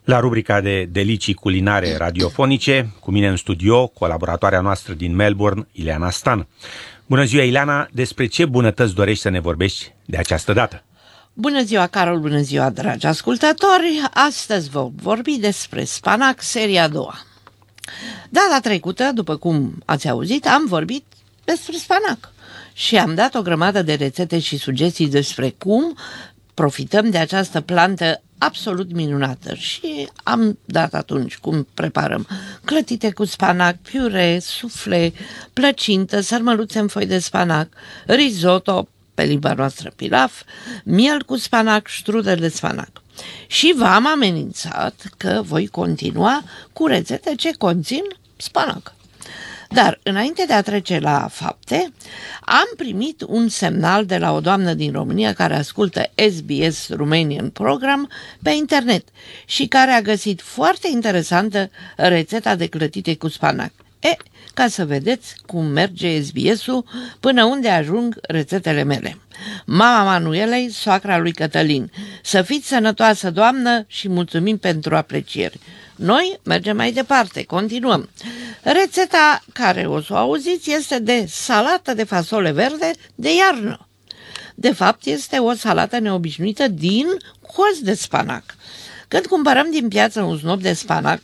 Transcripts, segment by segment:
La rubrica de delicii culinare radiofonice, cu mine în studio, colaboratoarea noastră din Melbourne, Ileana Stan. Bună ziua, Ileana! Despre ce bunătăți dorești să ne vorbești de această dată? Bună ziua, Carol! Bună ziua, dragi ascultători! Astăzi vom vorbi despre spanac, seria a doua. Data trecută, după cum ați auzit, am vorbit despre spanac și am dat o grămadă de rețete și sugestii despre cum profităm de această plantă absolut minunată și am dat atunci cum preparăm clătite cu spanac, piure, sufle, plăcintă, sarmăluțe în foi de spanac, risotto, pe limba noastră pilaf, miel cu spanac, strudel de spanac. Și v-am amenințat că voi continua cu rețete ce conțin spanac. Dar, înainte de a trece la fapte, am primit un semnal de la o doamnă din România care ascultă SBS Romanian Program pe internet și care a găsit foarte interesantă rețeta de clătite cu spanac. Ca să vedeți cum merge SBS-ul până unde ajung rețetele mele. Mama Manuelei, soacra lui Cătălin. Să fiți sănătoasă, doamnă, și mulțumim pentru aprecieri. Noi mergem mai departe, continuăm. Rețeta care o să o auziți este de salată de fasole verde de iarnă. De fapt, este o salată neobișnuită din cozi de spanac. Când cumpărăm din piață un snop de spanac,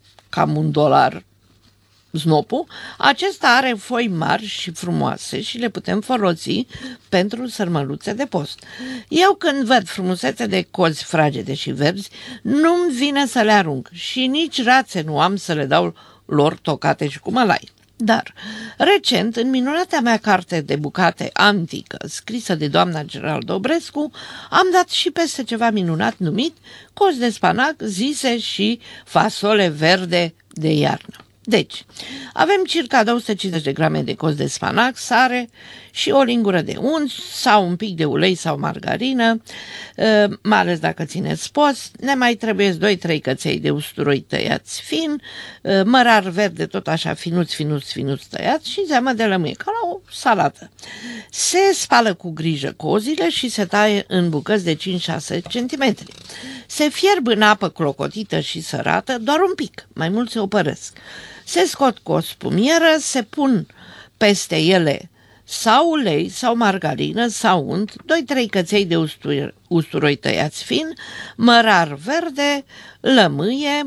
cam $1, snopul, acesta are foi mari și frumoase și le putem folosi pentru sărmăluțe de post. Eu când văd frumusețe de cozi fragede și verzi, nu-mi vine să le arunc și nici rațe nu am să le dau lor tocate și cu mălai. Dar, recent, în minunata mea carte de bucate antică, scrisă de doamna Gerald Dobrescu, am dat și peste ceva minunat numit cozi de spanac, zise și fasole verde de iarnă. Deci, avem circa 250 de grame de cozi de spanac, sare și o lingură de unt sau un pic de ulei sau margarină, mai ales dacă țineți post. Ne mai trebuie 2-3 căței de usturoi tăiați fin, mărar verde tot așa finuți tăiați și zeamă de lămâie, ca la o salată. Se spală cu grijă cozile și se taie în bucăți de 5-6 cm. Se fierb în apă clocotită și sărată doar un pic, mai mult se opăresc. Se scot cu o spumieră, se pun peste ele sau ulei sau margarină sau unt, 2-3 căței de usturoi tăiați fin, mărar verde, lămâie.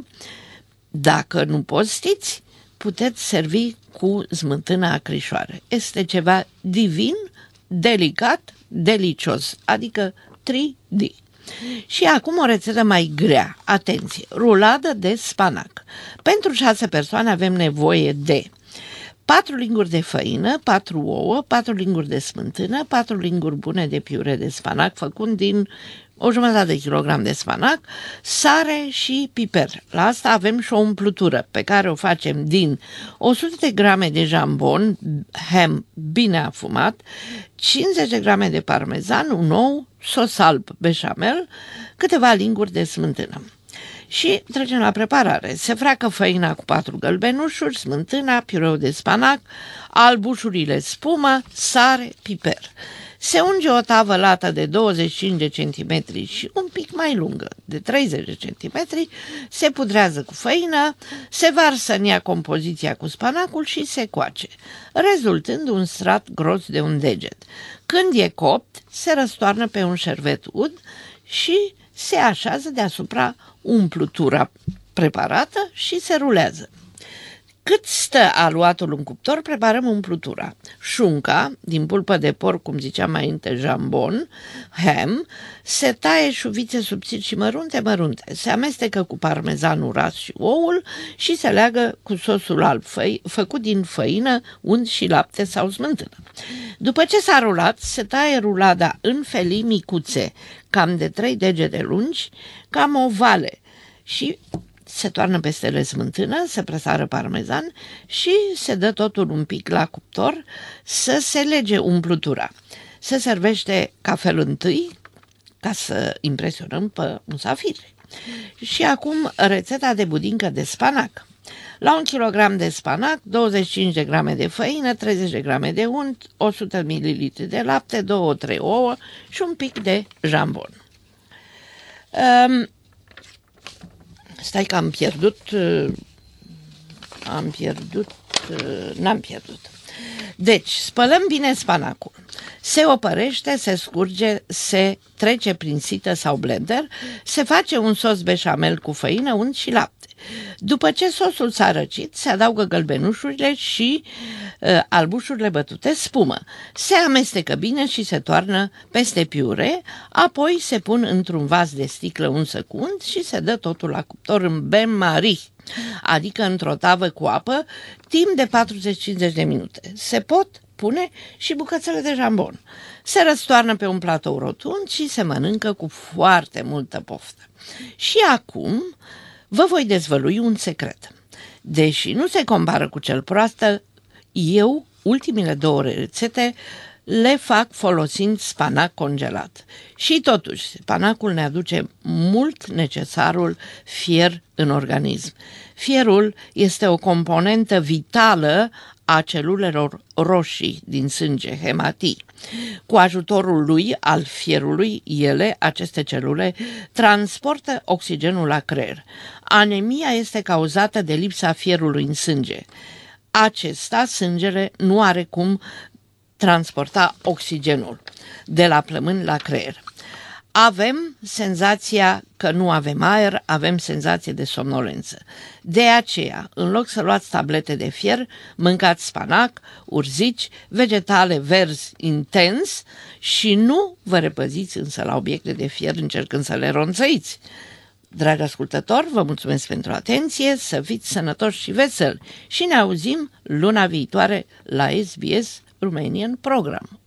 Dacă nu postiți, puteți servi cu smântână acrișoare. Este ceva divin, delicat, delicios, adică 3D. Și acum o rețetă mai grea. Atenție! Ruladă de spanac. Pentru 6 persoane avem nevoie de 4 linguri de făină, 4 ouă, 4 linguri de smântână, 4 linguri bune de piure de spanac făcut din o jumătate de kilogram de spanac, sare și piper. La asta avem și o umplutură pe care o facem din 100 de grame de jambon, ham bine afumat, 50 de grame de parmezan, un ou, sos alb beșamel, câteva linguri de smântână. Și trecem la preparare. Se freacă făina cu 4 gălbenușuri, smântâna, piureul de spanac, albușurile spumă, sare, piper. Se unge o tavă lată de 25 de centimetri și un pic mai lungă, de 30 de centimetri, se pudrează cu făină, se varsă în ea compoziția cu spanacul și se coace, rezultând un strat gros de un deget. Când e copt, se răstoarnă pe un șervet ud și se așează deasupra umplutura preparată și se rulează. Cât stă aluatul în cuptor, preparăm umplutura. Șunca, din pulpă de porc, cum ziceam mai înainte, jambon, ham, se taie șuvițe subțiri și mărunte, se amestecă cu parmezanul ras și oul și se leagă cu sosul alb făcut din făină, unt și lapte sau smântână. După ce s-a rulat, se taie rulada în felii micuțe, cam de 3 degete lungi, cam ovale și se toarnă peste ele smântână, se presară parmezan și se dă totul un pic la cuptor să se lege umplutura. Se servește ca fel întâi, ca să impresionăm pe musafiri. Și acum rețeta de budincă de spanac. La 1 kg de spanac, 25 de grame de făină, 30 de grame de unt, 100 ml de lapte, 2-3 ouă și un pic de jambon. Stai că am pierdut... N-am pierdut. Deci, spălăm bine spanacul. Se opărește, se scurge, se trece prin sită sau blender, se face un sos beșamel cu făină, unt și lapte. După ce sosul s-a răcit, se adaugă gălbenușurile și albușurile bătute, spumă. Se amestecă bine și se toarnă peste piure, apoi se pun într-un vas de sticlă unsă cu unt și se dă totul la cuptor în bain-marie, adică într-o tavă cu apă, timp de 40-50 de minute. Se pot pune și bucățele de jambon. Se răstoarnă pe un platou rotund și se mănâncă cu foarte multă poftă. Și acum vă voi dezvălui un secret. Deși nu se compară cu cel proastă, eu, ultimele 2 rețete, le fac folosind spanac congelat. Și totuși, spanacul ne aduce mult necesarul fier în organism. Fierul este o componentă vitală a celulelor roșii din sânge, hematii. Cu ajutorul lui, al fierului, aceste celule, transportă oxigenul la creier. Anemia este cauzată de lipsa fierului în sânge. Sângele nu are cum transporta oxigenul de la plămâni la creier. Avem senzația că nu avem aer, avem senzație de somnolență. De aceea, în loc să luați tablete de fier, mâncați spanac, urzici, vegetale verzi intens și nu vă repăziți însă la obiecte de fier încercând să le ronțăiți. Dragi ascultători, vă mulțumesc pentru atenție, să fiți sănătoși și veseli și ne auzim luna viitoare la SBS Romanian Program.